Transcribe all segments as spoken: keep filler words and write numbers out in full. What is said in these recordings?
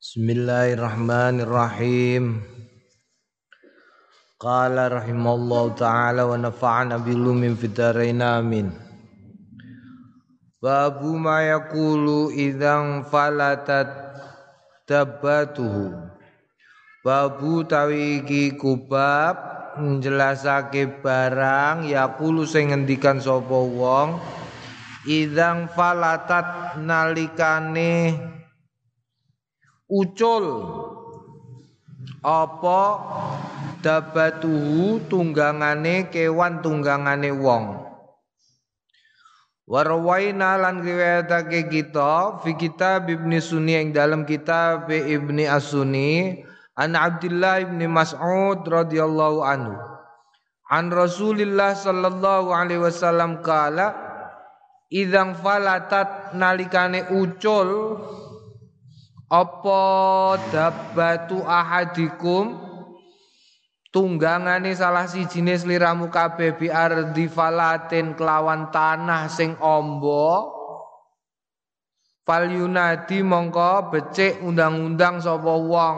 Bismillahirrahmanirrahim. Qala rahimallahu ta'ala wa nafa'ana bilumin fid-dharain amin. Babu ma yaqulu idzan falatat tabbatuhu. Babu tawi iki kubab njelasake barang yaqulu sing ngendikan sapa wong idzan falatat nalikane ucul apa dabatuhu tunggangane kewan tunggangane wong. Warwaina lan riwayatake kita fi kitab Ibnu Sunni ing dalam kitab Ibnu As-Sunni an Abdullah ibn Mas'ud radhiyallahu anhu an Rasulillah sallallahu alaihi wasallam kala idzan falatat nalikane ucul apa dabbatu ahadikum tunggangane salah sijine sliramu kabeh bi ardi falatin kelawan tanah sing amba fal yunadi mongko becik undang-undang sapa wong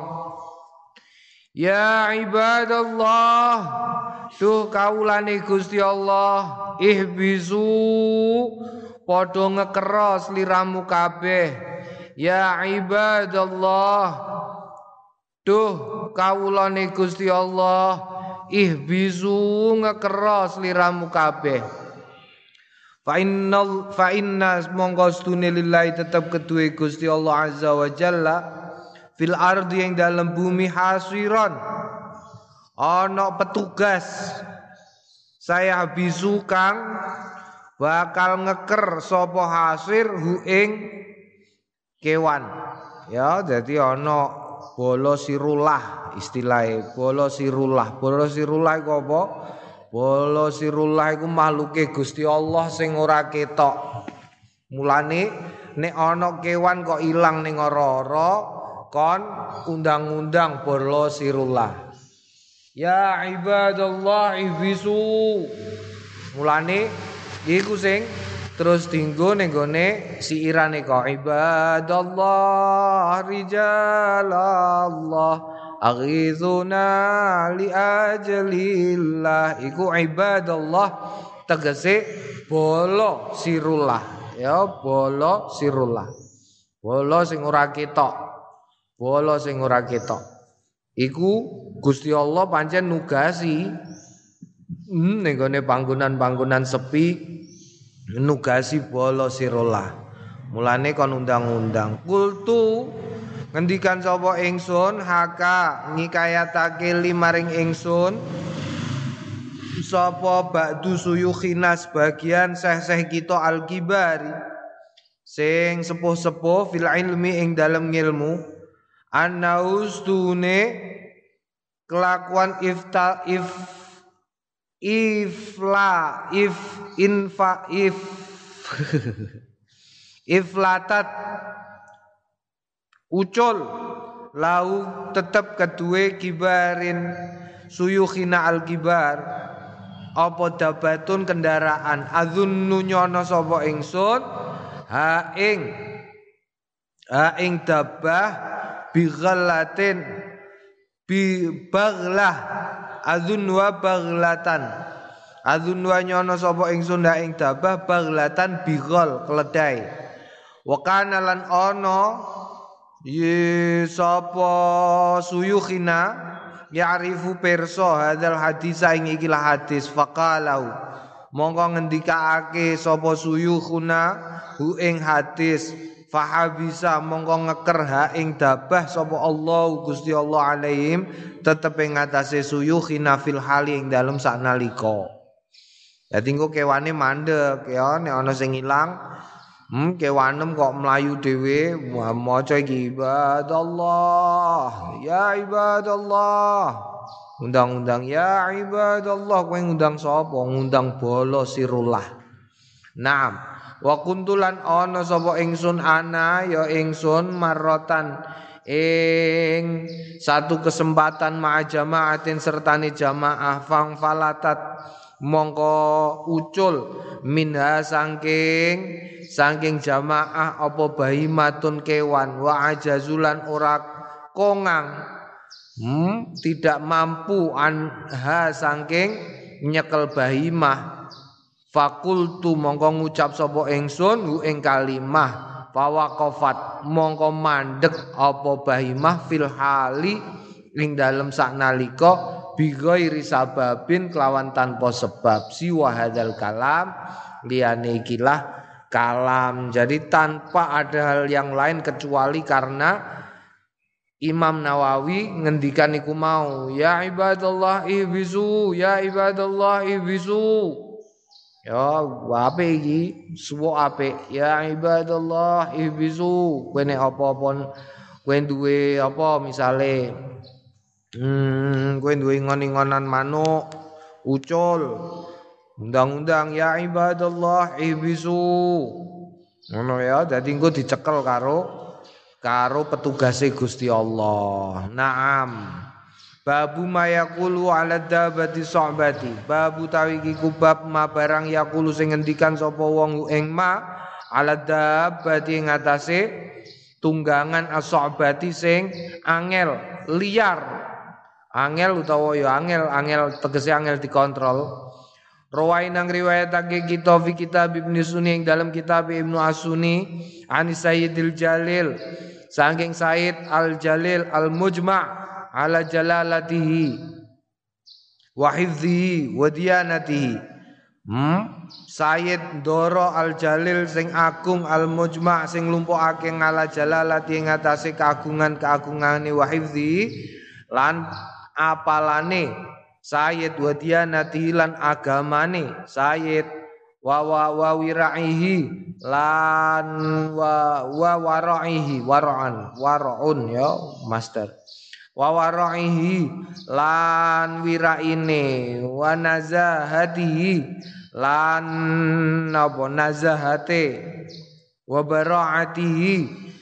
ya ibadallah duh kaulane Gusti Allah ihbizu padha ngekera sliramu kabeh ya ibadallah duh kawulane Gusti Allah ihbizu ngekera sliramu kabeh fa innal fa inna monggo stune lillahi tetep keduwe Gusti Allah azza wa jalla fil ardi yang dalam bumi hasiron ana petugas saya bisu kang bakal ngeker sapa hasir hu ing kewan ya jadi ana bolo sirullah istilahnya bolo sirullah bolo sirullah iku apa bolo sirullah iku makhluke Gusti Allah sing ora ketok mulane nek ana kewan kok ilang ning ora-ora kon undang-undang bolo sirullah ya ibadallah ibisu mulane iku sing terus dinggo ning gone siirane kok ibadallah rijalallah aghizuna li ajalillah iku ibadallah tegese bolo sirullah ya bolo sirullah bolo sing ora ketok bolo sing ora ketok iku Gusti Allah pancen nugasi hmm, ning gone panggonan-panggonan sepi nugasi bolo sirullah mulane kon undang-undang kultu ngendikan sapa ingsun haka ngikayatake limaring ingsun sapa ba'du suyukhina sebagian seh-seh kita al-kibari sing sepuh-sepuh fil ilmi ing dalem ngilmu annaustune kelakuan ifta if ifla if infa if iflatat ucul lau tetep kedue kibarin suyukhina al kibar apa dabatun kendaraan azunnu nyono sapa ingsun ha ing ha ing dabah bi ghallatin bi baghlah azun wa baghlatan azun wa nyono sapa ingsun ndak ing dabah baghlatan bighol keledai wa kana lan ana ye sapa suyukhina ya'rifu perso hadzal hadis ing ikilah hadis faqalau mongko ngendikaake sapa suyukhuna hu ing hadis fahabisa mongko ngeker ha ing dabah sapa Allah Gusti Allah alaihim tetep ing ngatasé suyukhina fil hali ing dalem saknalika. Dadi engko kewane mandek ya nek ana sing ilang hmm kewanem kok mlayu dhewe maca iki ibadallah ya ibadallah undang-undang ya ibadallah kowe ngundang sapa ngundang bolo sirullah. Naam wa kuntulan ana sapa ingsun ana ya ingsun marrotan ing satu kesempatan ma'a jamaatin sertane jamaah fang falatat mongko ucul minha saking saking jamaah apa bahimatun kewan wa ajazulan ora kongang hmm, tidak mampu anha saking nyekel bahimah fakultu mongko ngucap sapa ingsun hu ing kalimah fawaqafat mongko mandek apa bahimah fil hali ing dalem saknalika bi ghairi sababin kelawan tanpa sebab siwa hadzal kalam liyane ikilah kalam. Jadi tanpa ada hal yang lain kecuali karena Imam Nawawi ngendikan iku mau ya ibadallah ihbisu ya ibadallah ihbisu. Ya, apik iki, suwo apik. Ya ibadallah ihbisu. Kowe nek apa-apa kowe duwe apa misale hmm kowe duwe ngon-ngonan manuk, ucul. Undang-undang ya ibadallah ihbisu. Ngono ya, dadi engko dicekel karo karo petugase Gusti Allah. Naam. Babu ma yaqulu ala dabati so'bati. Babu tawi iki kubab ma barang yaqulu sing ngendikan sapa wong ing ma ala dabati ing atase tunggangan as-so'bati sing angel liar. Angel utawa ya angel, angel tegese angel dikontrol. Rawai nang riwayatake kita fi kitab Ibnu Sunni ing dalam kitab Ibnu As-Sunni an Sayyidil Jalil saking Sayyid Al-Jalil Al-Mujma' ala jalalatihi wa hifzihi wa diyanatihi hmm? Sayyid Doro Al-Jalil sing agung Al-Mujma' sing nglumpukake ngala jalalati ing atase keagungan-keagungane wa hifzihi lan apalane Sayyid wa diyanatihi lan agamane Sayyid wa wa wa wiraihi lan wa wa waraihi wara'an wara'un ya master wa waraihi lan wiraine wa nazahatihi lan napa nazahate wa bara'atihi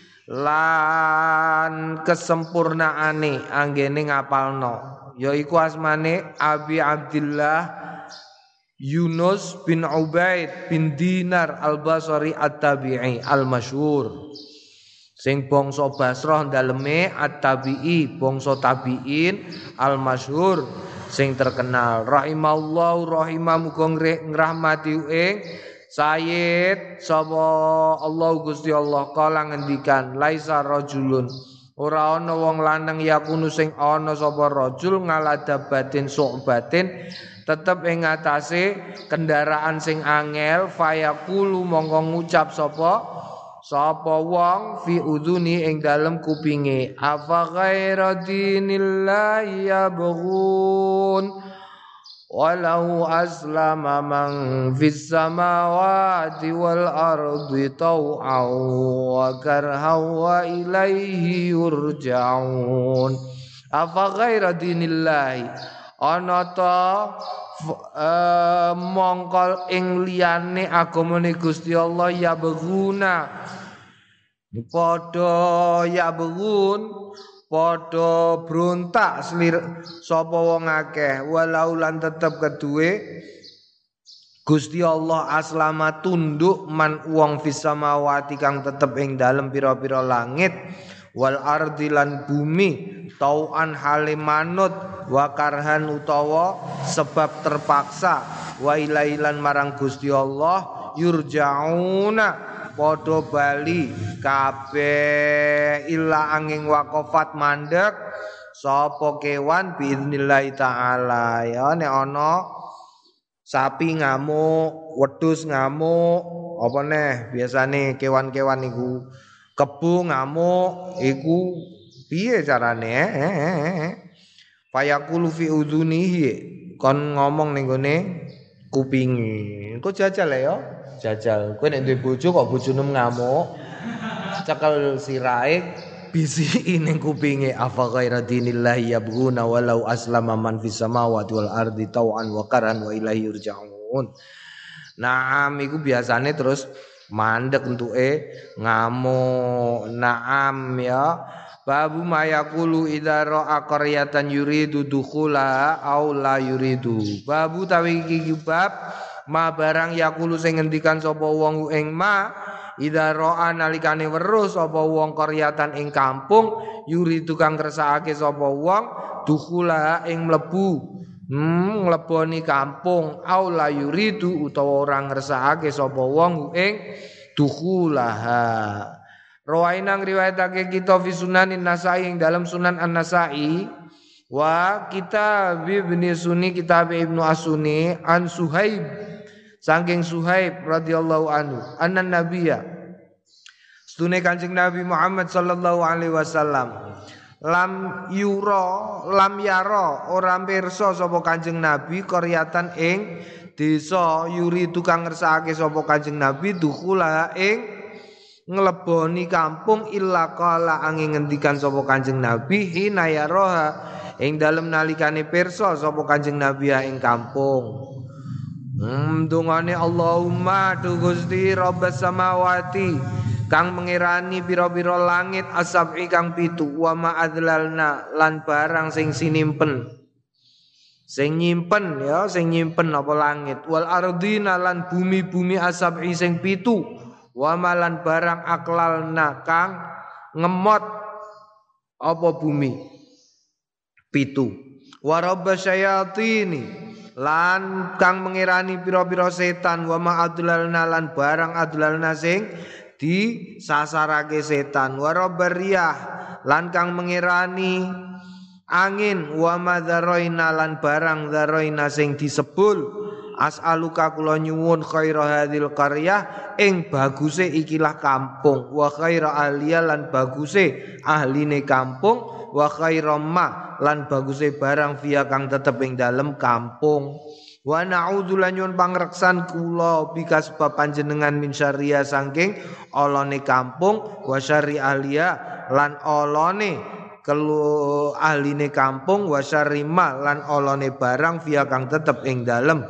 lan kesempurnaane anggene ngapalno yaiku asmane Abi Abdillah Yunus bin Ubaid bin Dinar Al-Basri At-Tabi'i Al-Masyhur sing bangsa Basrah daleme At-Tabi'i bangsa tabi'in Al-Masyhur sing terkenal rahimallahu rahimah muga ngrahmati ing Sayyid sapa Allah Gusti Allah kala ngendikan laisa rajulun ora ana wong lanang yakunu sing ana sapa rajul ngaladabatin su'batin tetep ing atase kendaraan sing angel fayaqulu mongko ngucap sapa sapa wong fi udhuni ing dalem kupinge afa ghaira dinillahi yabghun walau aslama man fis samawati wal ardi tau'an wa karhan wa ilaihi yurja'un afa ghaira dinillahi ana ta Uh, mongkol ing liyane agamane Gusti Allah ya beguna padha ya begun padha brontak selir sapa wong akeh walau lan tetep keduwe Gusti Allah aslama tunduk man wong fis samawati kang tetep ing dalem pira-pira langit wal ardi lan bumi tauan hale manut wa karhan utawa sebab terpaksa wa ilailan marang Gusti Allah yurja'una padha bali kabeh illa angin waqafat mandek sapa kewan biidznillah taala ya nek ana sapi ngamuk wedhus ngamuk apa neh biasane kewan-kewan iku kebu ngamuk iku piye carane eh fayaqulu fi udhunihi kon ngomong ning gone kupinge engko jajal ya jajal kowe nek duwe bojo kok bojone ngamuk cekel sirahe bisi ning kupinge afa ghaira dinillahi yabghuna walau aslama man fis samawati wal ardi tau'an wa karan wa ilaihi yurja'un. Naam iku biasane terus mandek entuke ngamuk. Naam ya Babu mayakulu idza ra'a qaryatan yuridu dukhula aw la yuridu. Babu tawi iki bab ma barang yakulu sing ngendikan sapa wong ing ma idza ra'a nalikane weruh sapa wong qaryatan ing kampung yuridu kang kersakake sapa wong dukhula ing mlebu hmm ngleboni kampung aw la yuridu utawa ora ngersakake sapa wong ing dukhulaha. Rawainang riwayatake kita fi sunanin Nasai ing dalam sunan An-Nasai wa kita Ibnu Sunni kitab Ibnu As-Sunni an Suhaib saking Suhaib radhiyallahu anhu annan nabiyya stune Kanjeng Nabi Muhammad sallallahu alaihi wasallam lam yura lam yara ora pirsa sapa Kanjeng Nabi qaryatan ing desa yuri tukang ngersakake sapa Kanjeng Nabi dukhula ing ngleboni kampung illa qala angin ngendikan sapa Kanjeng Nabi hina yaraha ing dalem nalikane pirsa sapa Kanjeng Nabi ing kampung. Hmm dungane Allahumma tu Gusti Rabbas samawati kang mengirani pira-pira langit asab'i kang pitu wa ma adlalna lan barang sing sinimpen sing nyimpen ya sing nyimpen apa langit wal ardina lan bumi-bumi asab'i sing pitu wa malan barang aklalna kang ngemot apa bumi pitu wa rabbasayatini lan kang mengirani pira-pira setan wa ma adlalna lan barang adlalna sing di sasarake setan wa rabbariyah lan kang mengirani angin wa madzaroina lan barang dzaroina sing disebul as'aluka kula nyuwun khaira hadhil qaryah ing baguse ikilah kampung wa khaira ahliya lan baguse ahline kampung wa khaira ma lan baguse barang via kang tetep ing dalem kampung wa na'udzu lan nyuwun pangreksan kula bika sebab panjenengan min syariya saking olone kampung wa syari ahliya lan olone kelu ahline kampung wa syari ma lan olone barang via kang tetep ing dalem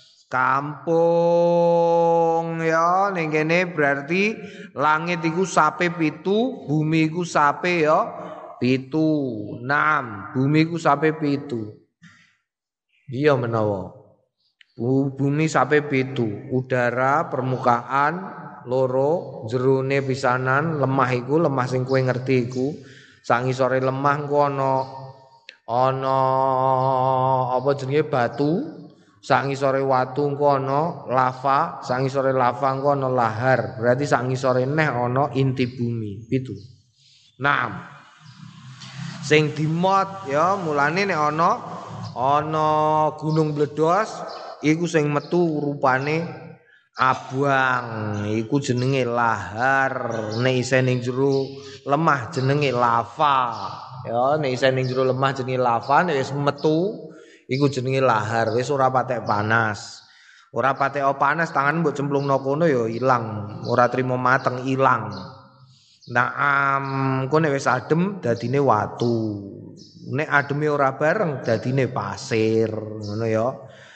kampung ya ning kene berarti langit iku sape pitu, bumi iku sape ya pitu. Naam, bumi iku sape pitu. Iya menawa. Bumi sape pitu, udara, permukaan, loro, jerone pisanan, lemah iku, lemah sing kowe ngerti iku. Sak ngisore lemah engko ana ana apa jenenge batu. Sak ngisore watu engko ana lava, sak ngisore lava engko ana lahar. Berarti sak ngisore neh ana inti bumi. Pitu. Naam. Sing dimot ya mulane nek ana ana gunung bledos iku sing metu rupane abang, iku jenenge lahar. Nek isih ning jero lemah jenenge lava. Ya nek isih ning jero lemah jenenge lava, nek wis metu iku jenenge lahar, wis ora patek panas. Ora patek panas, tangan mbok cemplungno kono ya ilang, ora trimo mateng ilang. Naam, kowe nek wis adem dadine watu. Nek ademe ora bareng dadine pasir, ngono ya.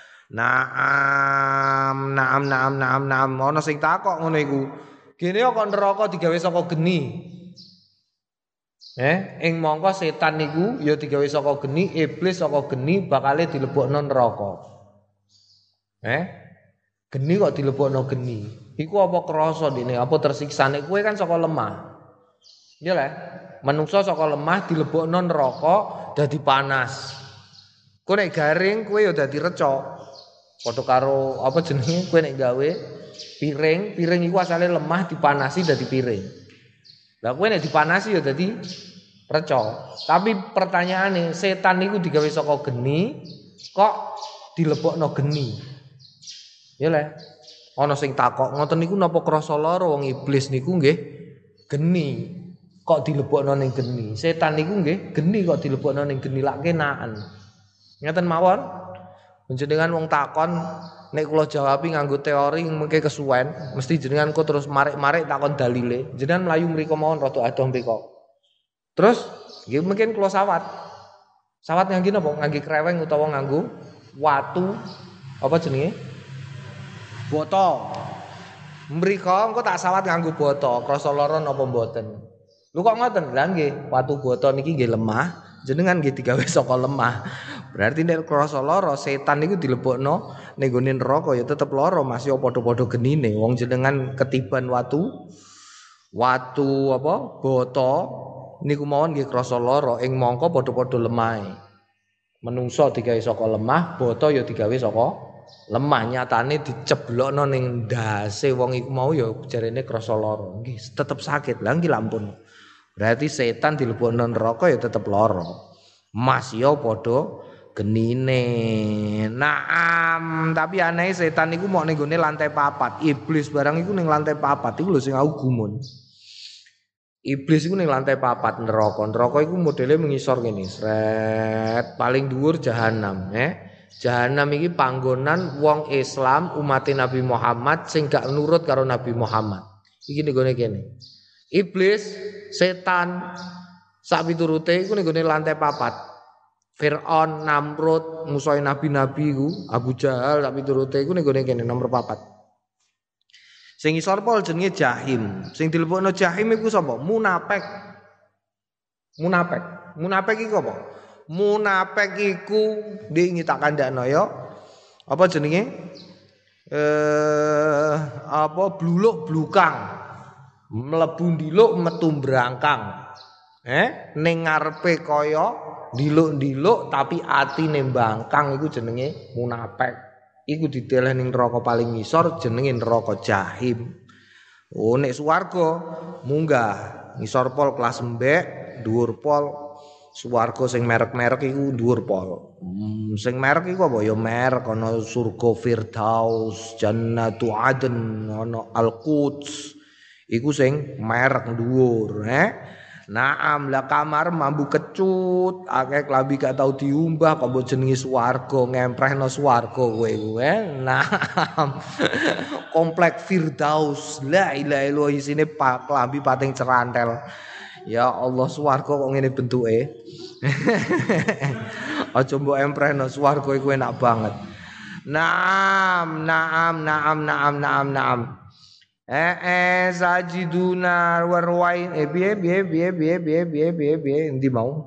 Naam, naam naam naam naam ana sing takok ngono iku. Gene kok neraka digawe saka geni. Eh, ing mongko setan niku ya digawe saka geni, iblis saka geni bakale dilebokno neraka. Eh? Geni kok dilebokno geni. Iku apa krasa dene, apa tersiksa nek kowe kan saka lemah. Ya lho, manungsa saka lemah dilebokno neraka dadi panas. Kowe nek garing kowe ya dadi reca. Padha karo apa jenenge kowe nek gawe piring, piring iku asale lemah dipanasi dadi piring. Lah kowe nek dipanasi ya dadi reca. Tapi pertanyaane, setan niku digawe saka geni kok dilebokno geni. Ya le. Ana sing takok, ngoten niku napa krasa lara wong iblis niku nggih geni kok dilebokno ning geni. Setan niku nggih geni kok dilebokno ning geni lak kenaan. Ngeten mawon. Jenengan wong takon nek kula jawabi nganggo teori mengke kesuwen, mesti jenengan kok terus marik-marik takon dalile. Jenengan mlayu mriku mawon rada adoh mriku. Terus nggih mungkin kula sawat. Sawat ngangge napa? Ngangge kreweng utawa nganggo watu apa jenenge? Boto. Mriku engko tak sawat nganggo boto, krasa lara napa mboten? Lho kok ngoten? Lah nggih, watu bata niki nggih lemah, jenengan nggih digawe saka lemah. Berarti nek krasa lara setan niku dilebokno ning gone neraka ya tetep lara Mas ya padha-padha genine. Wong jenengan ketiban watu watu apa? Bata niku mawon nggih krasa lara ing mangka padha-padha lemahe. Menungso digawe saka lemah, bata ya digawe saka lemah. Nyatane diceblokno ning ndase wong iku mau ya jarene krasa lara. Nggih tetep sakit. Lah nggih lampun. Berarti setan dilebokno neraka ya tetep lara. Mas ya padha genine. Naam, tapi aneh setan iku mok ning gone lantai papat. Iblis barang iku ning lantai papat iku lho sing aku gumun. Iblis iku ning lantai papat neraka. Neraka iku modele mengisor ngene, sret, paling dhuwur jahanam, eh. Jahanam iki panggonan wong Islam umat Nabi Muhammad sing gak nurut karo Nabi Muhammad. Iki ning gone kene. Iblis, setan, sak piturute iku ning gone lantai papat. Fir'aun, Namrud, musuhe nabi-nabi iku, Abu Jahal sak piturute iku ning gone kene nomor papat. Sing isor pol jenenge Jahim. Sing dilebokno Jahim iku sapa? Munafik. Munafik. Munafik iku apa? Munafik iku ndek tak kandhakno ya. Apa jenenge? Eh apa bluluk blukang. Mlebu ndiluk metu brangkang. Eh ning ngarepe kaya ndiluk-ndiluk tapi atine mbangkang iku jenenge munafik. Iku dideleh ning neraka paling ngisor jenenge neraka Jahim. Oh nek swarga munggah ngisor pol kelas embek, dhuwur pol. Swarga sing merek-merek iku dhuwur pol. Hmm, sing merek iku apa ya merek ana surga Firdaus, Jannatu Adn, ana Al-Quds. Iku sing merek dhuwur, eh. Naam lah kamar mambu kecut, akeh klambi gak tau diumbah kok mbok jenenge swarga, ngemprehno swarga kowe kuwe. Naam. Komplek Firdaus. La ilaha illallah isine pak klambi pating cerantel. Ya Allah swarga kok ngene bentuke. Aja mbok emprehno swarga iku enak banget. Naam, naam, naam, naam, naam, naam. Eh eh sajiduna warwain eh biye biye biye biye biye biye biye biye endi mau.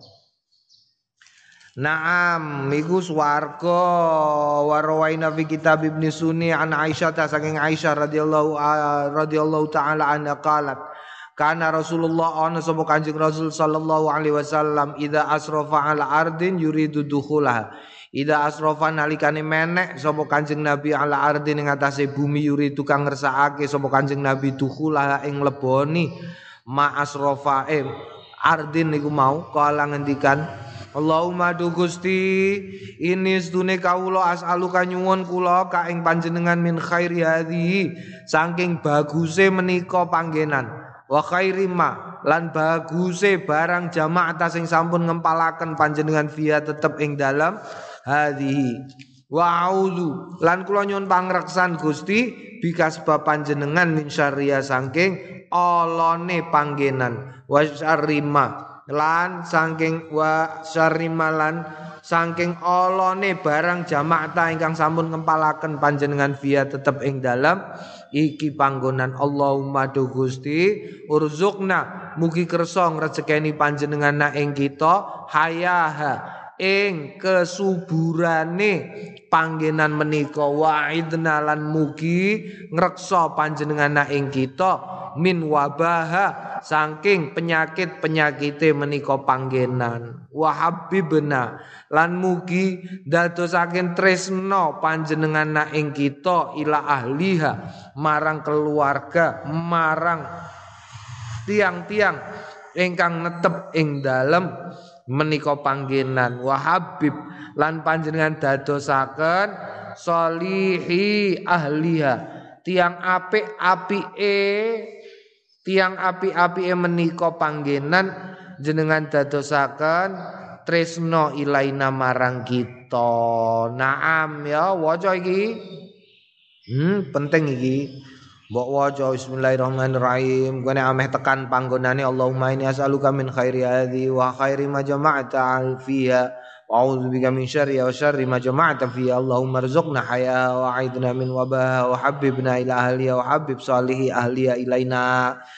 Naam iku swarga warwaina fi kitab Ibnu Sunni an Aisyah ta saking Aisyah radhiyallahu radhiyallahu taala anha qalat kana Rasulullah ana sapa Kanjeng Rasul sallallahu alaihi wasallam idza asrafa ala ardin yuridu dukhulaha. Ida asrofa nalikane menek sapa Kanjeng Nabi ala ardi ning atase bumi yuri tukang ngersakake sapa Kanjeng Nabi dukhula ing leboni ma asrofa eh ardin niku mau kala ngendikan Allahumma du Gusti ini sedune kawula as'aluka nyuwun kula ka ing panjenengan min khairi hadhihi saking baguse menika panggenan wa khairi ma lan baguse barang jamaah sing sampun ngempalaken panjenengan via tetep ing dalam hadhihi wa a'udzu lan kula nyuwun pangreksan Gusti bika sebab panjenengan min syarriya saking olone panggenan wa syarrima lan saking wa syarrima lan saking olone barang jamaah ingkang sampun ngempalaken panjenengan via tetep ing dalam iki panggonan Allahumma do Gusti urzuqna mugi kersa ngrezekeni panjenengan na ing kita hayaha ing kesuburane panggenan menika wa'idna lan mugi ngreksa panjenengan ing kita min wabaha saking penyakit-penyakite menika panggenan wa habibna lan mugi dadosaken tresno panjenengan ing kita ila ahliha marang keluarga marang tiang-tiang ingkang netep ing dalem menika panggenan wa habib lan panjenengan dadosaken solihi ahliha tiang apik-apike tiang apik-apike menika panggenan jenengan dadosaken tresno ilaina marang kita. Naam ya waca iki hmm penting iki mbok waca bismillahirrahmanirrahim gone ameh tekan panggonane Allahumma inni as'aluka min khairi hadhi wa khairi ma jama'ta fiha wa a'udzu bika min syarri wa syarri ma jama'ta fiha Allahumma rzuqna haya wa a'idna min wabaha wa habibna ila ahliya wa habib salihi ahliya ilaina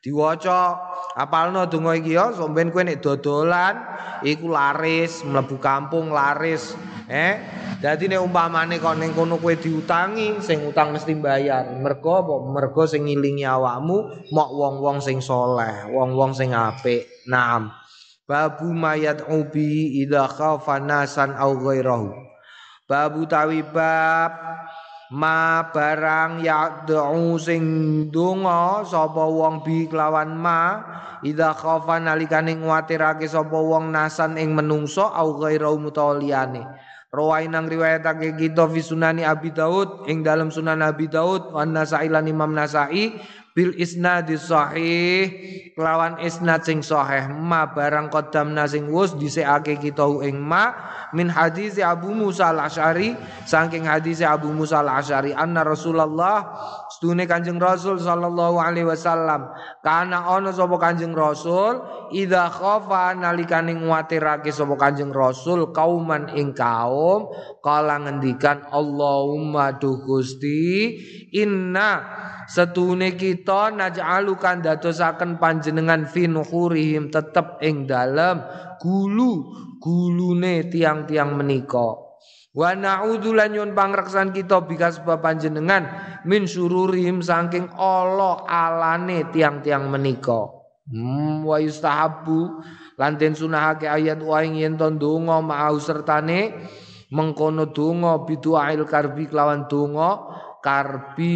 Diwaca apalno donga iki ya sampeyan kowe nek dodolan iku laris mlebu kampung laris eh dadi nek umpamane kok ning kono kowe diutangi sing utang mesti bayar mergo apa mergo sing ngilingi awakmu mok wong-wong sing saleh wong-wong sing apik naam babu mayat ubi idza khafa nasan au ghairahu babu tawi bab ma barang ya'du sing donga sapa wong bi kelawan ma idza khafa nalikane nguwatirake sapa wong nasan ing menungso au ghairau mutawliyane rawai nang riwayatake kita fi sunani Abi Daud ing dalam sunan Abi Daud wan Nasa'i lan Imam Nasa'i bil isnadis sahih kelawan isnad sing sahih ma barang qaddamna sing wus dhisikake kita ing ma min hadis Abu Musa al-Asy'ari saking hadis Abu Musa al-Asy'ari anna Rasulullah sedune Kanjeng Rasul sallallahu alaihi wasallam kana ana sapa Kanjeng Rasul idza khafa nalikane nguwatirake sapa Kanjeng Rasul kauman ing kaum kala ngendikan Allahumma duh Gusti inna setune kita naj'alukan dadosaken panjenengan fi nuhurihim tetep ing dalem gulu gulune tiang-tiang menika wa na'udzu lan nyun pangreksan kita bika sebab panjenengan min sururihim saking ala alane tiang-tiang menika hmm, wa yustahabbu lan den sunahake ayat wa ing yen to ndonga mau sertane mengkono donga bidu'ail karbi kelawan donga karbi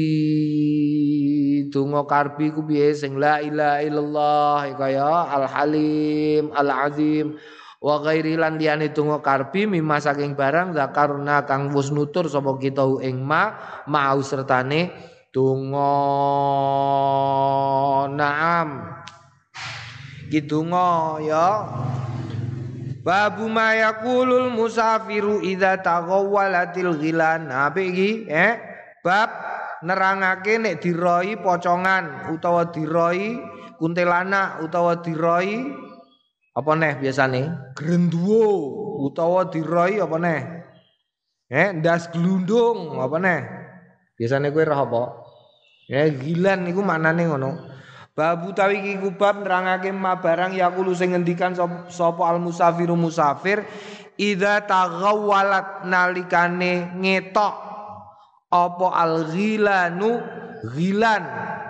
donga karbi ku piye sing la ilaha illallah kaya al halim al azim wa ghairi lan liyane donga karbi mimma saking barang zakarna kang wis nutur sapa kita ing ma mau sertane donga naam ki donga ya babu ma yaqulul musafiru idza taghawwalatil ghilan apa iki eh bab nerangake nek diroi pocongan utawa diroi kuntilanak utawa diroi apa neh biasane grenduwo utawa diroi apa neh eh ndas glundung apa neh biasane kowe roh apa eh ghilan niku maknane ngono. Babu tawi iki kubab nerangake ma barang yaqulu sing ngendikan sapa al musafiru musafir idza taghawwalat nalikane ngetok apa al ghilanu ghilan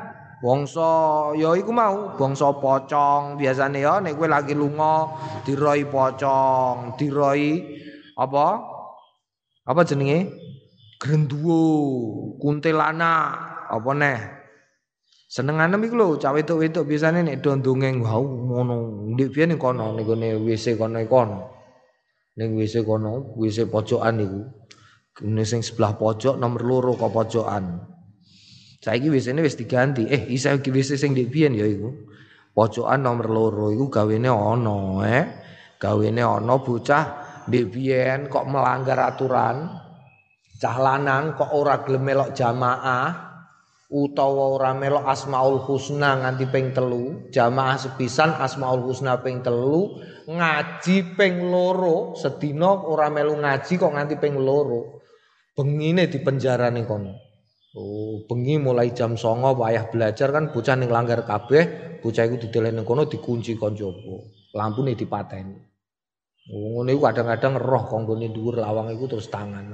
bangsa ya iku mau bangsa pocong biasane ya nek kowe lagi lunga diroi pocong diroi apa apa jenenge grenduwo kuntilanak apa neh senengane iku lho cah wedok-wedok biasane nek do ndongeng wau ngono ndek biyen ning kono ning gone W C kono kono ning W C kono W C pojokan niku ning sing sebelah pojok nomor loro kok pojokan saiki W C-ne wis diganti eh isa iki W C sing ndek biyen ya iku pojokan nomor loro iku gawene ana eh gawene ana bocah ndek biyen kok melanggar aturan cah lanang kok ora gelem melok jamaah utawa ora melok Asmaul Husna nganti ping telu jamaah sepisan Asmaul Husna ping telu ngaji ping loro sedina ora melu ngaji kok nganti ping loro bengine dipenjara ning kono oh bengi mulai jam songo wayah belajar kan bocah ning langgar kabeh bocah iku dideleh ning kono dikunci kon jaba lampune dipateni oh ngene iku kadang-kadang roh konggone dhuwur lawang iku terus tangan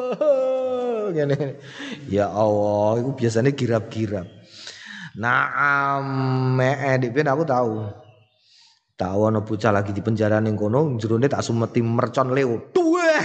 ngene ya Allah iku biasanya girap-girap nah me dik ben aku tahu tahu ana bocah lagi di penjara ning kono jerone tak sumeti mercon leo duwer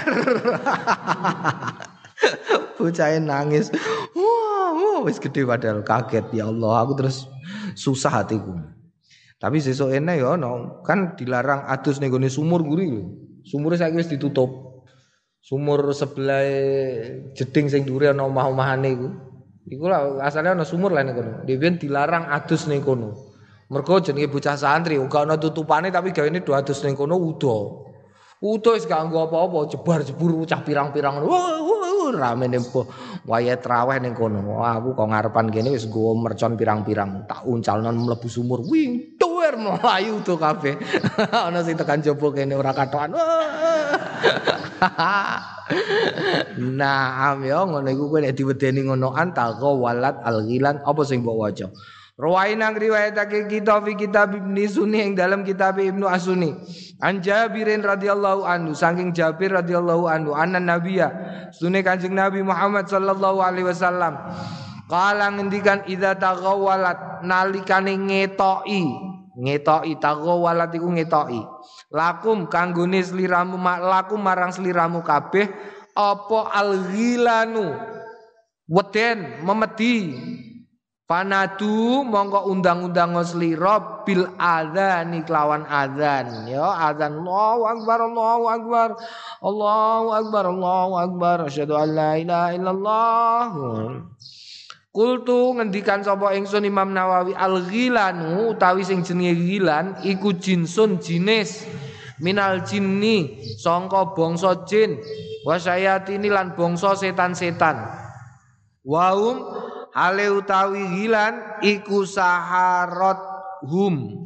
bocah nangis wah wis gede padahal kaget ya Allah aku terus susah hatiku tapi sesuk ene ya no, kan dilarang adus ning gone sumur guri lho sumure saiki wis ditutup sumur sebelah jeding sing dhuwure ana omah-omahane iku. Iku lah asale ana sumur lah ning kono. Dhewe dilarang adus ning kono. Mergo jenenge bocah santri uga ana tutupane tapi gawene do adus ning kono udo. Udo wis gak nggo apa-apa, jebar-jebur cah pirang-pirang ngono. Ramene mbuh wayah traweh ning kono. Wah, aku kok ngarepan kene wis nggo mercon pirang-pirang. Tak uncalno mlebu sumur. Wing, tuwer mlayu to kabeh. Ana sing tekan jaba kene ora katokan. Nah, am yo ngono iku kowe nek diwedeni ngonoan taqa walat al-ghilan apa sing mbok waca. Rawaina riwayatake kita fi kitab Ibnu Sunni ing dalam kitab Ibnu As-Sunni. An Jabirin radhiyallahu anhu saking Jabir radhiyallahu anhu anna nabiyya sunne Kanjeng Nabi Muhammad sallallahu alaihi wasallam kala ngendikan idza taghawwalat nalikane ngetoki ngetoki taghawwalat iku ngetoki lakum kanggone sliramu lakum marang sliramu kabeh apa al-ghilanu weden memedi panadu mongko undang-undang slira bil adzan kelawan adzan ya adzan Allahu akbar Allahu akbar Allahu akbar Allahu akbar asyhadu an la ilaha illallah. Kultu ngendikan sapa ingsun Imam Nawawi al-ghilanu utawi sing jenenge ghilan iku jinsun jinis minal jinni sangka bangsa jin wasayatini lan bangsa setan-setan waum hale utawi hilan iku saharat hum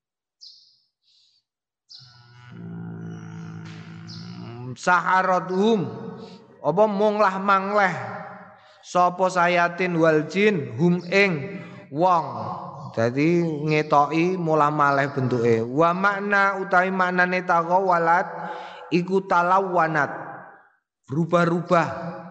saharat hum apa monglah mangleh sapa sayatin wal jin hum ing wong dadi ngetoki mulah maleh bentuke wa makna utawi maknane taqawalat iku talawanat berubah-ubah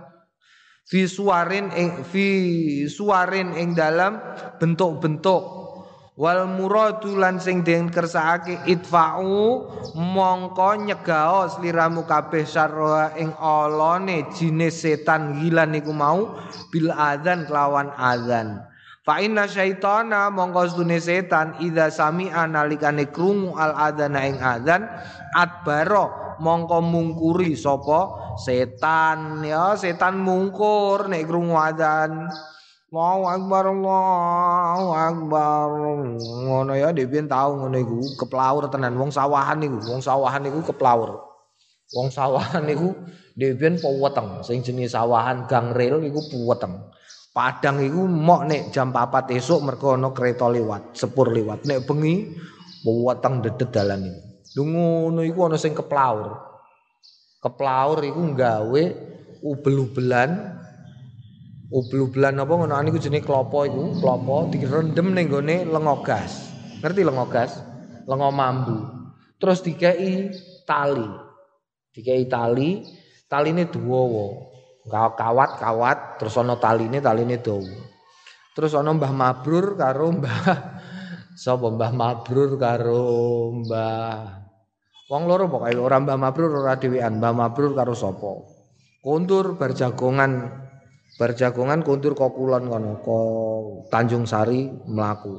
fi suwarin ing fi suwarin ing dalam bentuk-bentuk wal muradu lan sing den kersakake idfa'u mongko nyegao sliramu kabeh sarwa ing olone jinis setan gilan niku mau bil adzan kelawan adzan fa inna syaitana mongko stune setan idza sami'a nalikane krungu al adzana ing adzan adbaro mongko mungkuri sapa setan ya setan mungkur nek krungu adzan Allahu akbar Allahu akbar ngono ya dhewe tau ngono iku keplaur tenan wong sawahan niku wong sawahan niku keplaur wong sawahan niku dhewe peweteng sing jenenge sawahan gang rel iku peweteng Padang iku mok nek jam papat esuk mergo ana kereta liwat sepur liwat nek bengi peweteng dedet dalan iku lho ngono iku ana sing keplaur keplaur iku gawe ubel-ubelan ubel-ubelan apa ngono niku jenenge klopo iku klopo direndem ning gone lenga gas ngerti lenga gas lenga mambu terus dikei tali dikei tali taline dawa kawat-kawat terus ana taline taline dawa terus ana Mbah Mabrur karo Mbah sapa Mbah Mabrur karo Mbah wong loro pokoke ora Mbah Mabrur ora dhewean Mbah Mabrur karo sapa kondur bar jagongan bar jagongan kondur kok kulon kono ko Tanjung Sari mlaku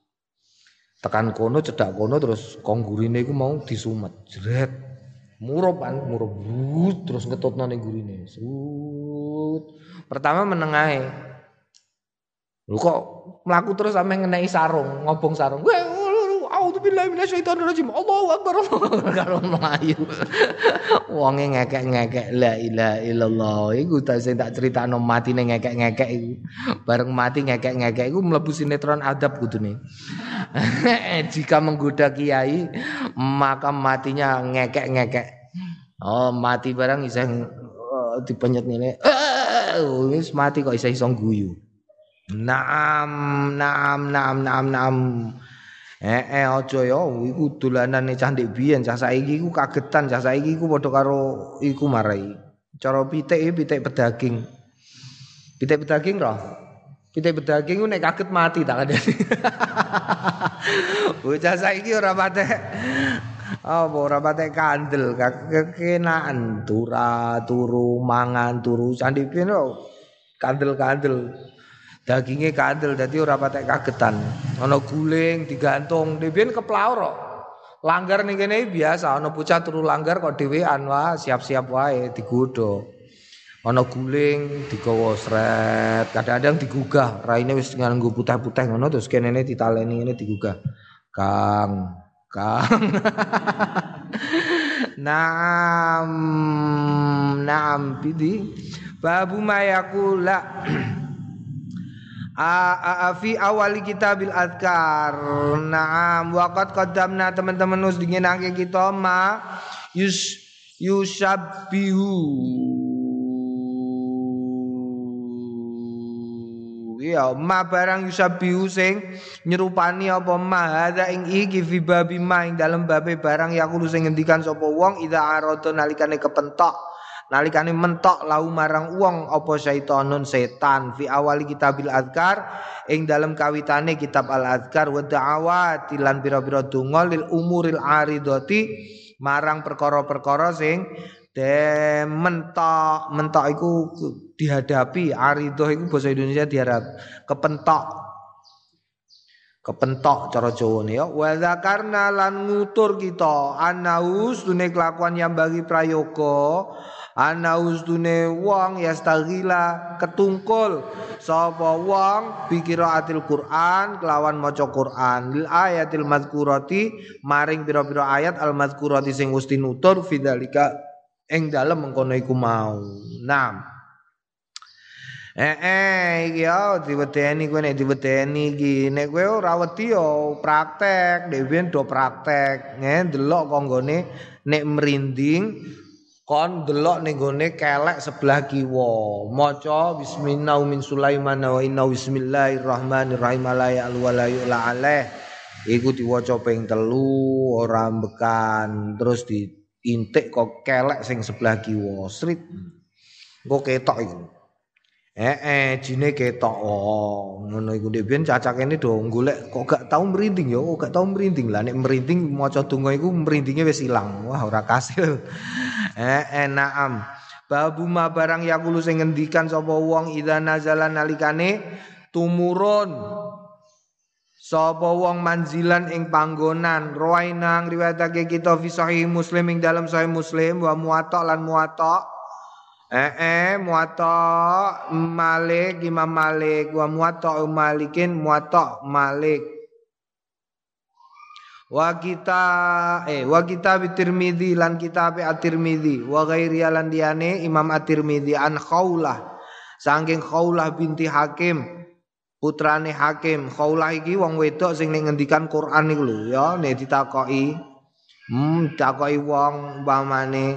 tekan kono cedak kono terus konggurine iku mau disumet jret murup kan murup terus ngetutno ning gurine sut pertama menengahe lho kok mlaku terus sampe ngeneki sarung ngobong sarung A'udzubillahi minasyaitonirrajim. Allahu akbar. Karo mlayu. Wonge ngekek-ngekek la ilaha illallah. Iku tak sing tak critakno matine ngekek-ngekek iku. Bareng mati ngekek-ngekek iku mlebu sinetron adab kudune. Jika menggoda kiai, maka matinya ngekek-ngekek. Oh, mati barang isih uh, dipenyet ngene. Uh, wis mati kok isih iso guyu. Naam, naam, naam, naam, naam. Eh eh aja ya iku dolanane cah ndek biyen cah saiki iku kagetan cah saiki iku padha karo iku marai cara pitik iki pitik pedaging pitik pedaging roh pitik pedaging ku nek kaget mati tak kandhani bocah saiki ora patek apa ora patek kandel kekenaan tura turu mangan turu candi piyen kandel-kandel dagingnya kandel dadi ora patek kagetan ana guling digantung dhewe keplaur kok langgar ning kene biasa ana bocah turu langgar kok dhewean wae siap-siap wae digodho ana guling digawa sret kadang-kadang digugah raine wis nganggo putih-putih ngono terus kenene ditaleni ngene digugah Kang Kang Naam naam pidi babu mayakula A fi awali kitabil adkar. Naam waqad qaddamna teman-teman us dingenake kita ma yus yusabbihu ya ma barang yusabihu sing nyerupani apa ma hadza ing iki fi babi ma ing dalem babe barang yaqulu sing ngendikan sapa wong idza arada nalikane kepentok nalikane mentok lau marang wong apa syaitonun setan fi awali kitabil azkar ing dalem kawitane kitab al azkar wa da'awati lan pira-pira donga lil umuril aridati marang perkara-perkara sing de mentok mentok iku dihadapi aridoh iku basa Indonesia diharap kepentok kepentok cara Jawane ya wa zakarna lan ngutur kita anaus dune kelakuan yang bagi prayoga anaus dune wong yastaghila ketungkul sapa wong bikiraatil Quran kelawan maca Quran lil ayatil mazkurati maring pira-pira ayat al mazkurati sing wis tinutur fidzalika ing dalem mengkono iku mau. Naam. Eh eh iki yo diwedeni kowe nek diwedeni iki nek kowe ora wedi yo praktek, dhewe do praktek, nge delok konggone nek merinding kon delok ning gone kelek sebelah kiwa. Maca bismillah min Sulaiman wa inna bismillahirrahmanirrahim la ya'lu wa la yu'la alaih. Iku diwaca ping telu ora mbekan terus di intik kok kelek sing sebelah kiwa srit engko ketok iku eh eh jine ketok oh ngono iku ndek ben cacakene do golek kok gak tau merinding ya kok gak tau merinding lah nek merinding maca donga iku merindinge wis ilang wah ora kasil eh eh naam babu ma barang yaqulu sing ngendikan sapa wong idza nazala nalikane tumurun sapa wong manzilan ing panggonan rawainang riwayatake kita fi sahih Muslim ing dalam sahih Muslim wa muwatta lan muwatta eh eh muwatta Malik Imam Malik wa muwatta Malikin muwatta Malik wa kita eh wa kitab Tirmizi lan kitab At-Tirmizi wa ghairi lan diane Imam At-Tirmizi an Khaulah saking Khaulah binti Hakim putrane Hakim. Khaulah iki wong wedok sing ning ngendikan Quran iku lho ya nek ditakoki hmm ditakoki wong umpamane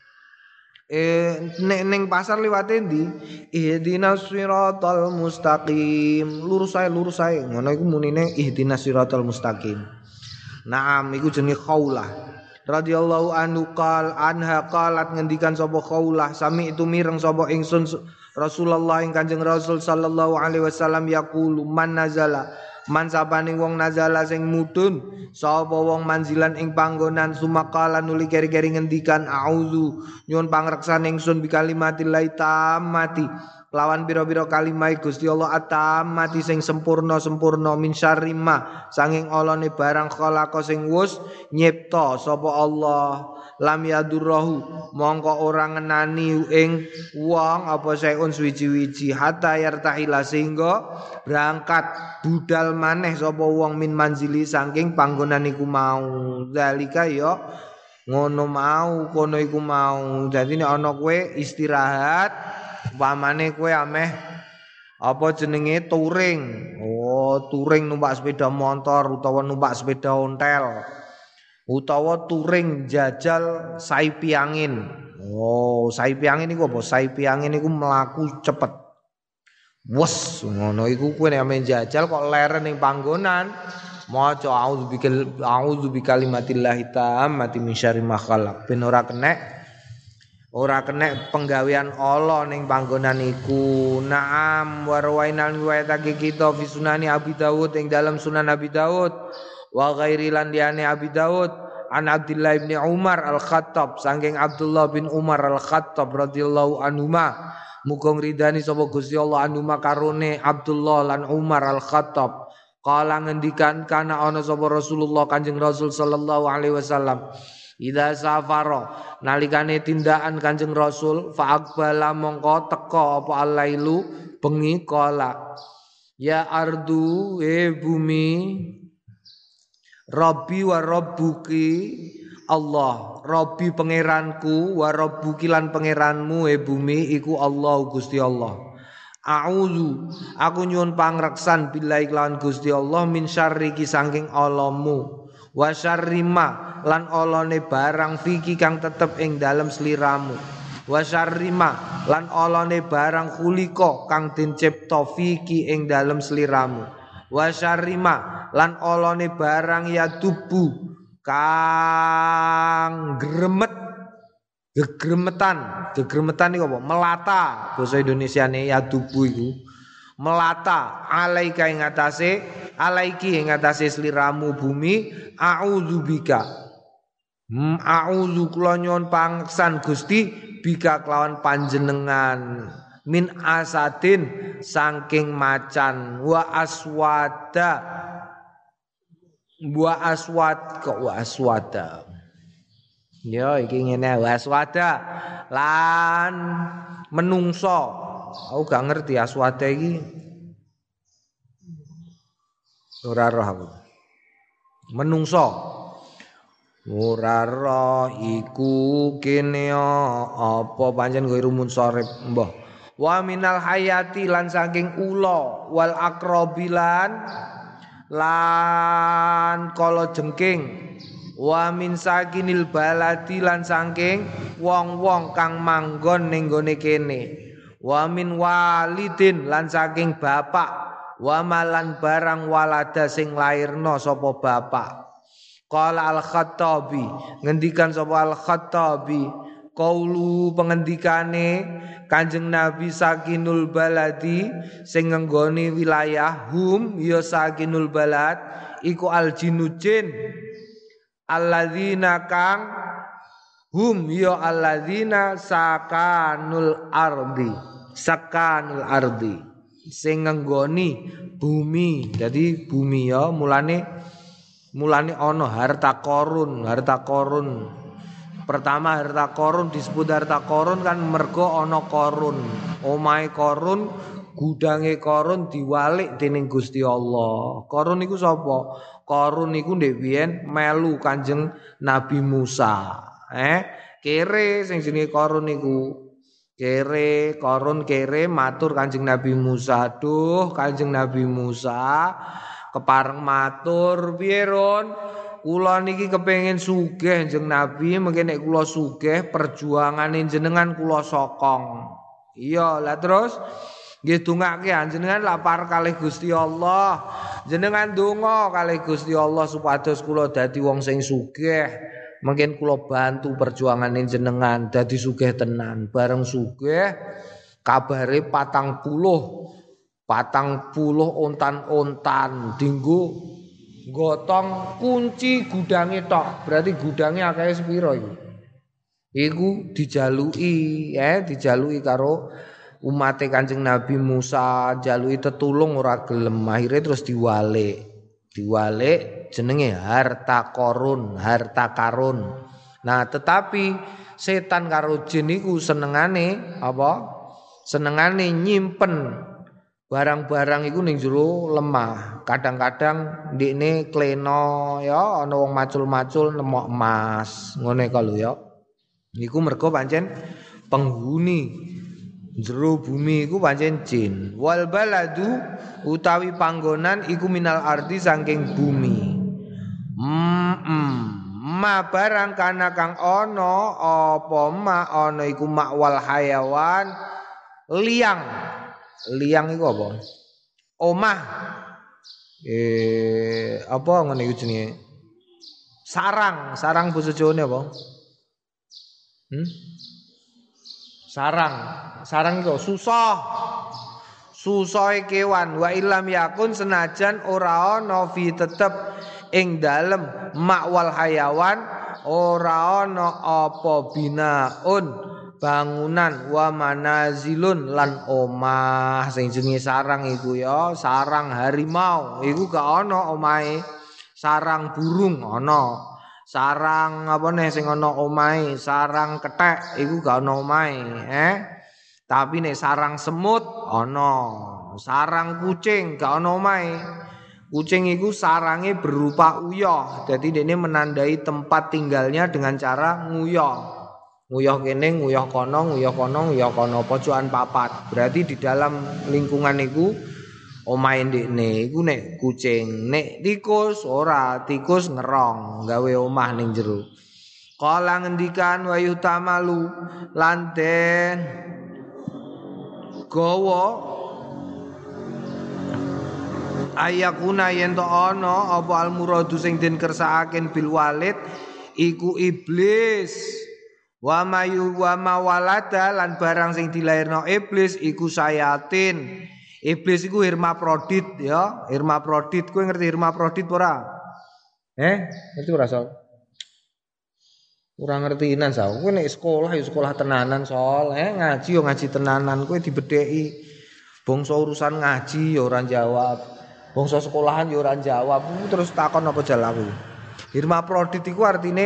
eh nek ning pasar liwate ndi ihdinas siratal mustaqim lurus ae lurus ae ngono iku munine ihdinas siratal mustaqim. Naam iku jenenge Khaulah radhiyallahu anhu qal anha qalat ngendikan sapa Khaulah sami itu mireng sapa ingsun Rasulullah ing Kanjeng Rasul sallallahu alaihi wasallam yaqulu man nazala man sabane wong nazala sing mudhun sapa wong manzilan ing panggonan sumakala nuli keri-keri ngendikan auzu nyuwun pangreksan ingsun bi kalimatillah tammati lawan pira-pira kalimah Gusti Allah atamati sing sempurna-sempurna min syarri ma sanging olone barang khalaqa sing wus nyipta sapa Allah lam yadurruhu mongko ora ngenani ing wong apa saeun suwi-wiji hatta yartahila sehingga berangkat budal maneh sapa wong min manzili saking panggonan iku mau zalika ya ngono mau kono iku mau dadi nek ana kowe istirahat umpamane kowe ameh apa jenenge touring oh touring numpak sepeda motor utawa numpak sepeda ontel utawa touring jajal saipi angin. Oh, saipi angin iku apa? Saipi angin iku mlaku cepet. Wes, ngono iku kowe nek ame jajal kok leren ning panggonan, maca auzubikel auzubikalimatillah tammati min syarri ma khalaq. Ben ora kenek ora kenek penggawean Allah ning panggonan iku. Naam warwainal riwayatake kita fi sunani Abi Dawud ing dalam Sunan Abi Dawud. Wa ghairi lan diane Abi Daud an Abdullah bin Umar Al-Khattab saking Abdullah bin Umar Al-Khattab radhiyallahu anhuma muga ngridani sapa Gusti Allah anhuma karone Abdullah lan Umar Al-Khattab kala ngendikan kana ana sapa Rasulullah Kanjeng Rasul sallallahu alaihi wasallam idza safara nalikane tindakan Kanjeng Rasul fa aqbala mongko teka apa alailu bengi kala ya ardu e bumi Rabbi wa rabbuki Allah Rabbi pangeranku wa rabbuki lan pangeranmu e bumi iku Allah Gusti Allah A'udzu aku nyuwun pangreksan billahi lan Gusti Allah min syarri ki saking alamu wa syarri ma lan olone barang fiki kang tetep ing dalem sliramu wa syarrima lan olone barang khulika kang den cipta fiki ing dalem sliramu wa syarrima lan olone barang ya tubu kang gremet gegremetan gegremetan iku apa melata basa Indonesiane ya tubu iku melata alaika ing atase alaiki ing atase sliramu bumi a'udzubika Hmm, a'udzu kula nyuwun pangeksan Gusti bika kelawan panjenengan min asadin saking macan wa aswada wa aswad kok wa aswada ya iki ngene wa aswada lan menungso aku gak ngerti aswada iki ora roh aku menungso ora roh iku kene apa pancen kowe rumun sorep mbah wa minal hayati lan saking ula wal akrobilan lan kala jengking wa min sakinil baladi lan saking wong-wong kang manggon ning gone kene wa min walidin lan saking bapak wa malan barang walada sing lairna sapa bapak. Qala al-Khattabi ngendikan sapa al-Khattabi qaulu pengendikane Kanjeng Nabi sakinul baladi sing ngenggoni wilayah hum ya sakinul balad iku al-jinnu jin alladzina kang hum ya alladzina sakanul ardi sakanul ardi sing ngenggoni bumi jadi bumi ya mulane Mulane ono harta korun, harta korun. Pertama harta korun disebut harta korun kan mergo ono korun. Omahe korun, gudange korun diwalik dening Gusti Allah. Korun iku sapa? Korun iku ndek biyen melu Kanjeng Nabi Musa. Eh, kere sing jenenge korun iku. Kere, korun kere matur Kanjeng Nabi Musa. Duh, Kanjeng Nabi Musa kepareng matur piye Ron kula niki kepengin sugih Kanjeng Nabi mengke nek kula sugih perjuangane jenengan kula sokong iya lah terus nggih dongake jenengan lapar kalih Gusti Allah jenengan donga kalih Gusti Allah supados kula dadi wong sing sugih mungkin kula bantu perjuangane jenengan dadi sugih tenan bareng sugih kabare patang puluh patang puluh ontan-ontan dinggo gotong kunci gudange tok berarti gudange akeh sepiro iku iku dijaluki ya dijaluki karo umate Kanjeng Nabi Musa jaluki tetulung ora gelem akhire terus diwalik diwalik jenenge harta korun harta karun nah tetapi setan karo jin iku senengane apa senengane nyimpen barang-barang iku ning jero lemah. Kadang-kadang ndekne kleno ya ana wong macul-macul nemok emas. Ngene kalau ya. Niku mergo pancen penghuni jero bumi iku pancen jin. Wal baladu utawi panggonan iku minal ardi saking bumi. Mm-mm. Ma barang kana kang ana apa ma ana iku makwal hayawan liang liang iku apa? Omah. Eh apa ngene iku jenenge? Sarang, sarang basa Jawane apa? Hmm? Sarang. Sarang iku susah. Susahe kewan wa ilam yakun senajan ora ana fi tetep ing dalem makwal hayawan ora ana apa binaun bangunan wa manazilun lan omah sing jenenge sarang iku ya sarang harimau iku gak ana omahe sarang burung ana sarang apa nih sing ana omahe sarang kethek iku gak ana omahe eh tapi nek sarang semut ana sarang kucing gak ana omahe kucing iku sarange berupa uyah jadi dene menandai tempat tinggalnya dengan cara nguyah nguyah kene, nguyah kono, nguyah kono, nguyah kono, pojokan papat. Berarti di dalam lingkungan iku omahe ndekne iku nek kucing, nek tikus ora, tikus ngerong, gawe omah ning jero. Kala ngendikan wa yutamalu lan den gawa ayakuna yen to ana apa almuradu sing den kersakaken bil walid iku iblis wa mayu wa mawalada lan barang sing dilairno iblis iku sayatin. Iblis iku hermaprodit ya, hermaprodit. Kowe ngerti hermaprodit ora? Eh, ngerti ora, Sol? Ora ngertinan sa. Kowe nek sekolah ya sekolah tenanan, Sol. Eh, ngaji yo ngaji tenanan. Kowe dibedheki. Bangsa urusan ngaji ya ora jawab. Bangsa sekolahan ya ora jawab. Terus takon apa jalaku. Hermaprodit iku artine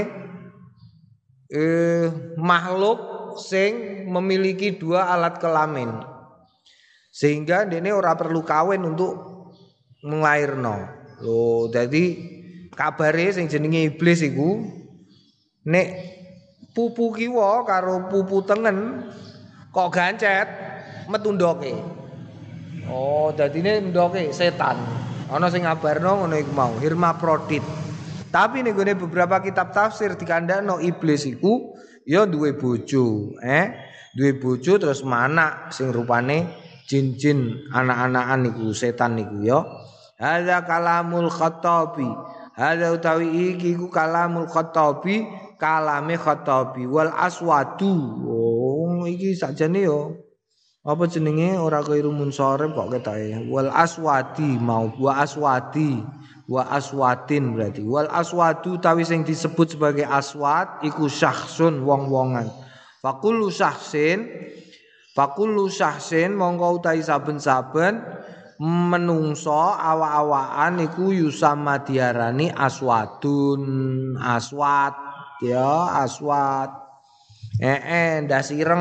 eh makhluk sing memiliki dua alat kelamin. Sehingga dene ora perlu kawin untuk nglairno. Lho, dadi kabare sing jenenge iblis iku nek pupu kiwa karo pupu tengen kok gancet metu ndoke. Oh, dadine ndoke setan. Ana sing ngabarno ngono iku mau, hermaprodit. Tapi ning gone beberapa kitab tafsir dikandakno iblis iku ya duwe bojo, eh, duwe bojo terus manak sing rupane jin-jin anak-anakan niku setan niku ya. Hadza kalamul Khattabi. Hadza utawi iki ku kalamul Khattabi, kalame Khattabi wal aswadu. Oh, iki sakjane yo. Apa jenenge ora kairu munsharif kok ketoke. Wal aswadi mau wa aswadi, wa aswadin berarti. Wal aswadu utawi sing disebut sebagai aswad iku syakhsun wong-wongan. Faqullu syakhsin Fakullu syahsin mongko utahi saben-saben menungso awa-awaan iku yusama diarani aswadun aswad ya aswad eh eh ndas ireng.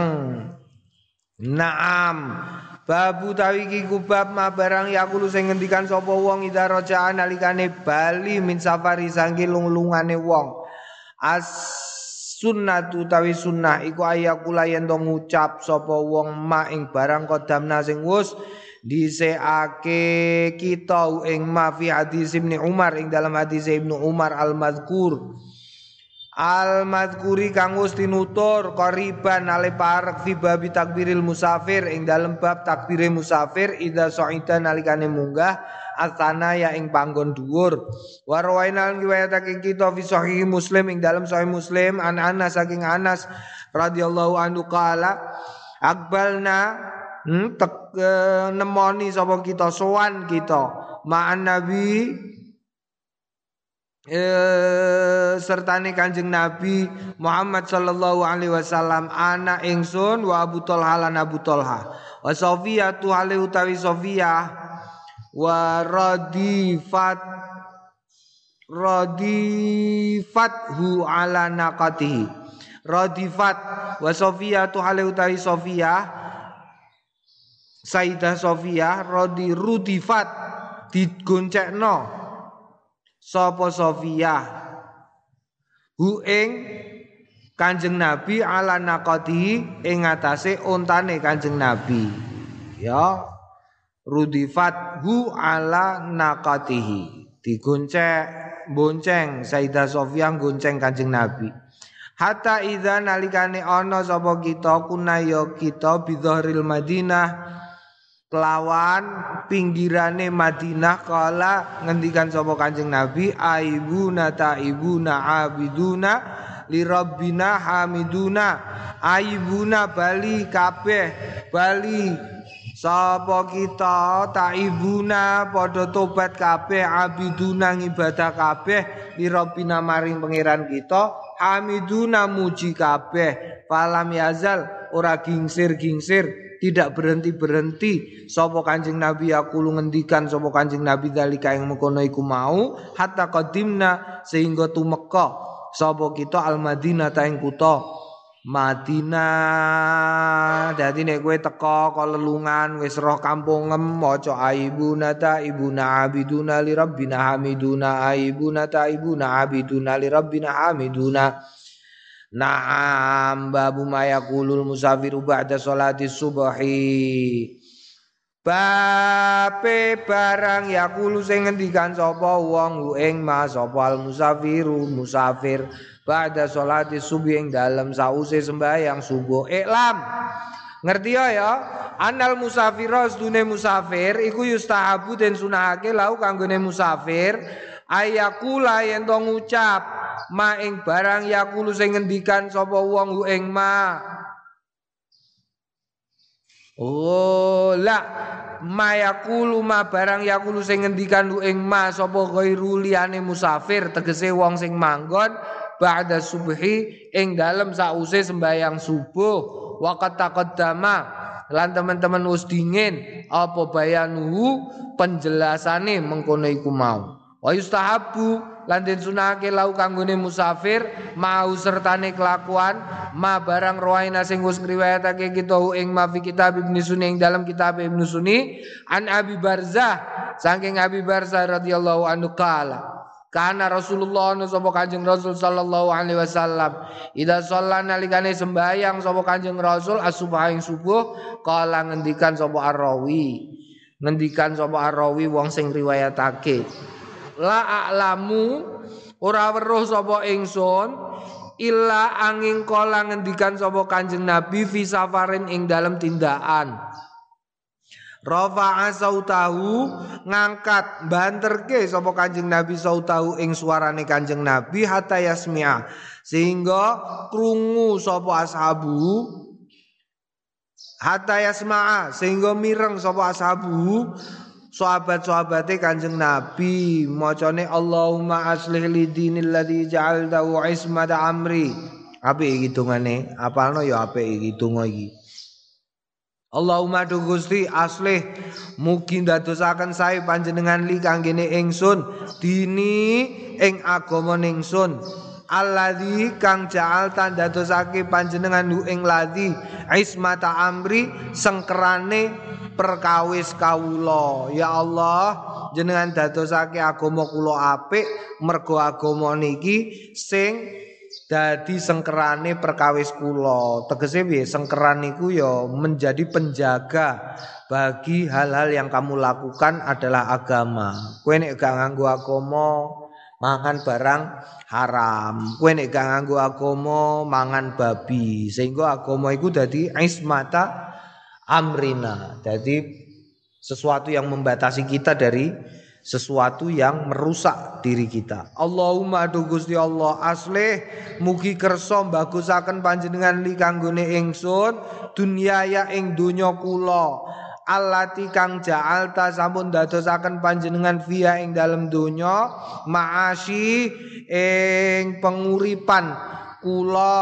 Naam babu tawi iki kubab ma barang yakulu sing ngendikan sapa wong ida rajaan nalikane bali min safari sangge lung-lungane wong as sunnatu tawi sunnah iku ayakula yen to ngucap sapa wong ma ing barang kodamna sing wus dhisikake kita ing ma fi hadis Ibnu Umar ing dalam hadis Ibnu Umar al-mazkur al-mazkuri kang wis tinutur qariban ale parek fi bab takbiril musafir ing dalam bab takbire musafir idza sa'ida nalikane munggah asana ya ing panggon dhuwur wa rawainal riwayatake kita fi sahih Muslim ing dalam sahih Muslim an Anas saking Anas radhiyallahu anhu qala akbalna hmm, tek, e, nemoni sapa kita sowan kita ma'an nabi e, sertane Kanjeng Nabi Muhammad sallallahu alaihi wasallam ana ingsun wa Abu Thalha lan Abu Thalha wa Sofiyatu hale utawi Sofiyah wa radifat radifathu ala naqatihi radifat wa Sofiyatu hale utawi Sofiyah Sayyidah Sofiyah radi rudifat digoncekno sapa Sofiyah hu ing Kanjeng Nabi ala naqatihi ing atase ontane Kanjeng Nabi ya rudifat hu ala naqatihi digonceng bonceng Sayyidah Sofiyah gonceng Kanjeng Nabi hatta idza nalikane ana sapa kita kunaya kita bidhahril Madinah kelawan pinggirane Madinah kala ngendikan sapa Kanjeng Nabi aibuna taibuna abiduna li rabbina hamiduna aibuna bali kabeh bali sapa kita taibuna padha tobat kabeh abiduna ngibadah kabeh li rabbina maring pangeran kita hamiduna muji kabeh falam yazal ora gingsir-gingsir tidak berhenti-berhenti sapa Kanjeng Nabi aku lu ngendikan sapa Kanjeng Nabi dalika ing mengkono iku mau hatta qadimna sehingga tumeka sapa kita al Madinah ta ing kutha Madinah. Dadi nek kowe teka kok lelungan wis roh kampungem maca aibuna ta ibuna abiduna li rabbina hamiduna aibuna ta ibuna abiduna li rabbina hamiduna. Naam babu mayaqulul musafiru ba'da sholati subhi. Bape barang yakulu sing ngendikan sapa wong ing ma sapa al musafiru musafir ba'da sholati subuh ing dalem sause sembahyang subuh. Iklam ngerti ya anal musafir sedune musafir iku yustahabu den sunahake lau kanggone musafir ayakula yen to ngucap ma ing barang yakulu sing ngendikan sapa wong ing ma. Oh la mayakulu ma barang yakulu sing ngendikan lu ing ma sapa ghairu liyane musafir tegese wong sing manggon ba'da subhi ing dalem sause sembayang subuh waqat taqaddama lan teman-teman wis dingin apa bayanuhu penjelasane mengkono iku mau wa yustahabu lan den sunahake lau kanggone musafir mau sertane kelakuan ma barang rawaina sing wis ngriwayatake kita ing ma fi kitab Ibnu Sunni ing dalam kitab Ibnu Sunni an Abi Barzah saking Abi Barzah radhiyallahu anhu kala kana Rasulullah sapa Kanjeng Rasul sallallahu alaihi wasallam ida shalla nalikane sembayang sapa Kanjeng Rasul as-subha ing subuh kala ngendikan sapa ar-rawi ngendikan sapa ar-rawi wong sing riwayatake la a'lamu ora weruh sapa ingsun illa angin kala ngendikan sapa Kanjeng Nabi fi safarin ing dalam tindakan rafa'a sautahu ngangkat banterke sapa Kanjeng Nabi sautahu ing suarane Kanjeng Nabi hatta yasmi'a sehingga krungu sapa ashabu hatta yasma'a sehingga mireng sapa ashabu sahabat-sahabate Kanjeng Nabi macane Allahumma aslih li dinil ladzi ja'altahu ismata amri. Apik iki dongane, apalno ya apik iki donga iki. Allahumma du Gusti aslih mugi ndadosaken sae panjenengan li kanggene ingsun dini ing agama ningsun. Alladzi kang ja'al tandadosake panjenengan hu ing ladzi ismata amri sengkerane perkawis kawula. Ya Allah jenengan dadosake agama kula apik mergo agama niki sing dadi sengkerane perkawis kula. Tegese piye sengkeran niku ya menjadi penjaga bagi hal-hal yang kamu lakukan adalah agama. Kowe nek gak nganggo agama mangan barang haram, kowe nek gak nganggo agama mangan babi, sehingga agama iku dadi ismata amrina, jadi sesuatu yang membatasi kita dari sesuatu yang merusak diri kita. Allahumma du Gusti Allah aslih mugi kersa bagusaken panjenengan li kanggone ingsun dunyaya ing donya kula allati kang ja'alta sampun dadosaken panjenengan via ing dalem donya ma'asyi ing penguripan kula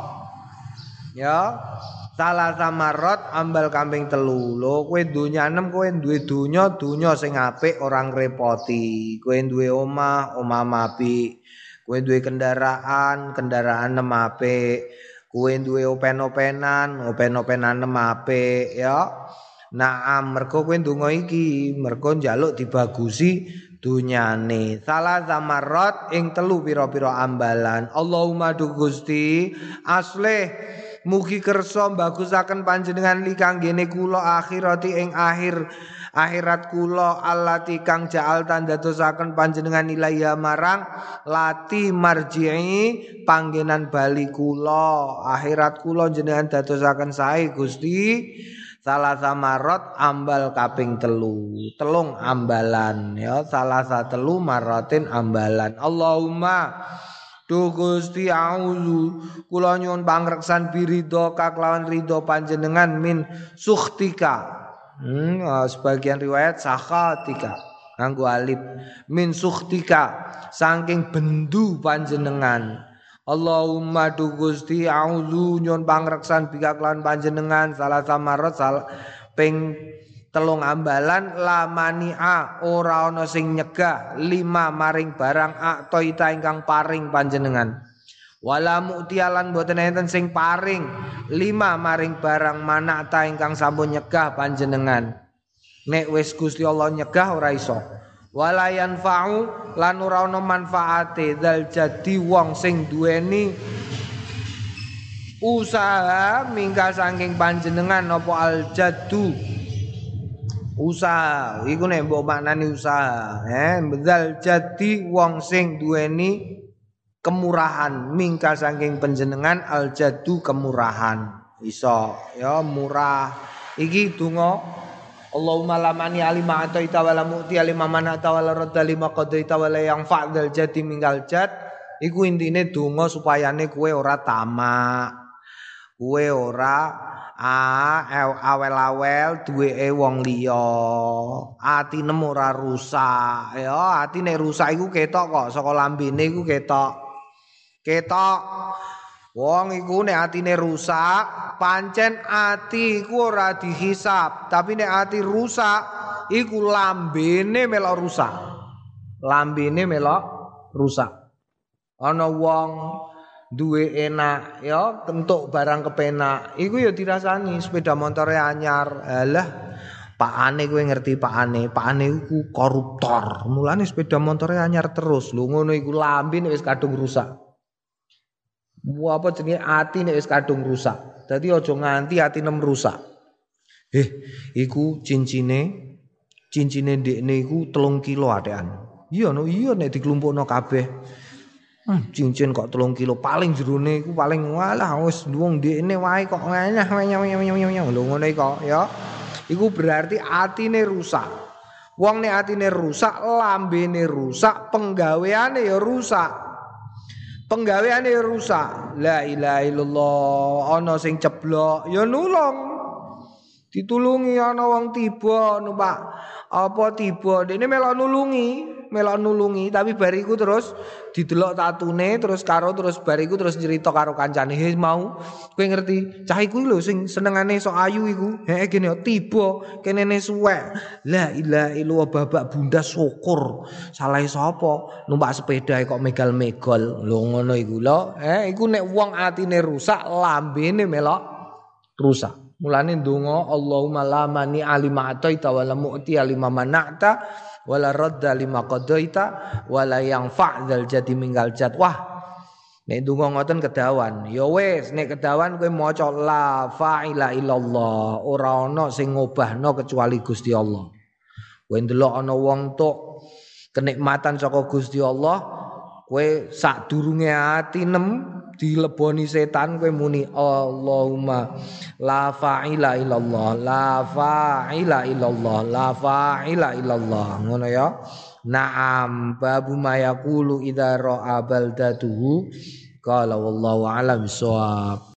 ya salah samarot ambal kambing telu lho kowe donya enem kowe duwe donya donya sing apik ora ngrepoti kowe duwe omah omah apik kowe duwe kendaraan kendaraan enem apik kowe duwe open-openan open-openan enem apik ya. Naam mergo kowe ndonga iki mergo njaluk dibagusi dunyane salah zamarot ing telu pira-pira ambalan. Allahumma du Gusti aslih mugi kersa bagusaken panjenengan li kanggene kula akhirati ing akhir akhirat kula allati kang ja'al tandadosaken panjenengan ilaiya marang lati marji'i panggenan bali kula akhirat kula jenengan dadosaken sae Gusti. Salah samarot ambal kaping telu telung ambalan ya salah satelu marotin ambalan. Allahumma du Gusti auzu kula nyuwun pangreksan biridho kaklawan ridho panjenengan min sukhtika hmm, sebagian riwayat sakhatika nganggo alif min sukhtika saking bendu panjenengan. Allahumma du Gusti auzu nyuwun pangreksan bikaklawan panjenengan salah samarot sal ping telung ambalan lamania ora ana sing nyegah lima maring barang aktoita ingkang paring panjenengan wala mu'tialan boten enten sing paring lima maring barang manakta ingkang sampun nyegah panjenengan nek wis Gusti Allah nyegah ora iso wala yanfa'u lan ora ana manfaate dzal jadi wong sing duweni usaha mingka saking panjenengan apa al jaddu usaha iku nek mbok maknani usaha eh dzal jadi wong sing duweni kemurahan mingka saking panjenengan al jadu kemurahan iso ya murah iki donga Allahumma lamani alima ataita wala mu'ti alima manata wala radda lima qadaita wala yang fa'dal jadi minggal jad iku intine donga supayane kowe ora tamak kowe ora ah awel-awel duweke wong liya atine ora rusak ya atine rusak iku ketok kok saka lambene iku ketok ketok wong iku nek atine rusak pancen ati iku ora dihisab tapi nek ati rusak iku lambene melok rusak lambene melok rusak ana wong duwe enak ya entuk barang kepenak iku ya dirasani sepeda motore anyar alah pakane kowe ngerti pakane pakane iku koruptor mulane sepeda motore anyar terus lho ngono iku lambene wis kadung rusak Bu apa jenenge ati nek wis kadung rusak. Dadi aja nganti atine rusak. Eh, iku cincine cincine ndekne iku telung kilo atekan. Iya no, iya nek diklumpukno kabeh. Hmm, cincin kok telung kilo paling jerone iku paling walah wis wong ndekne wae kok nganyah nyah lho ngono kok ya. Iku berarti atine rusak. Wong nek atine rusak, lambene rusak, penggaweane ya rusak. Penggaweane rusak. La ilaha illallah. Ana sing ceblok ya nulung. Ditulungi ana wong tiba numpak apa tiba dene melok nulungi, melok nulungi tapi bariku terus didelok tatune terus karo terus bariku terus cerita karo kancane he mau kowe ngerti cah iku lho sing senengane sok ayu iku heh kene tiba kenene suwek la ilaha illallah babak bunda syukur salah sapa numpak sepeda kok megal-megal lho ngono iku lho eh iku nek wong atine rusak lambene melok rusak. Mulane ndonga Allahumma la mani alima ataita wala mu'ti alima mana'ta wala radda lima qadaita wala yang fa'dal jadi minggal jad. Wah. Nek ndonga ngoten kedawan. Ya wis nek kedawan kowe maca la fa'ila illallah, ora ana sing ngobahno kecuali Gusti Allah. Kowe ndelok ana wong tok kenikmatan saka Gusti Allah, kowe sadurunge ati nem dileboni setan kowe muni Allahumma la fa'ila illallah la fa'ila illallah la fa'ila illallah ngono ya na'am babu ma yaqulu idza ra'a baldatuhu qala wallahu a'lam bissawab.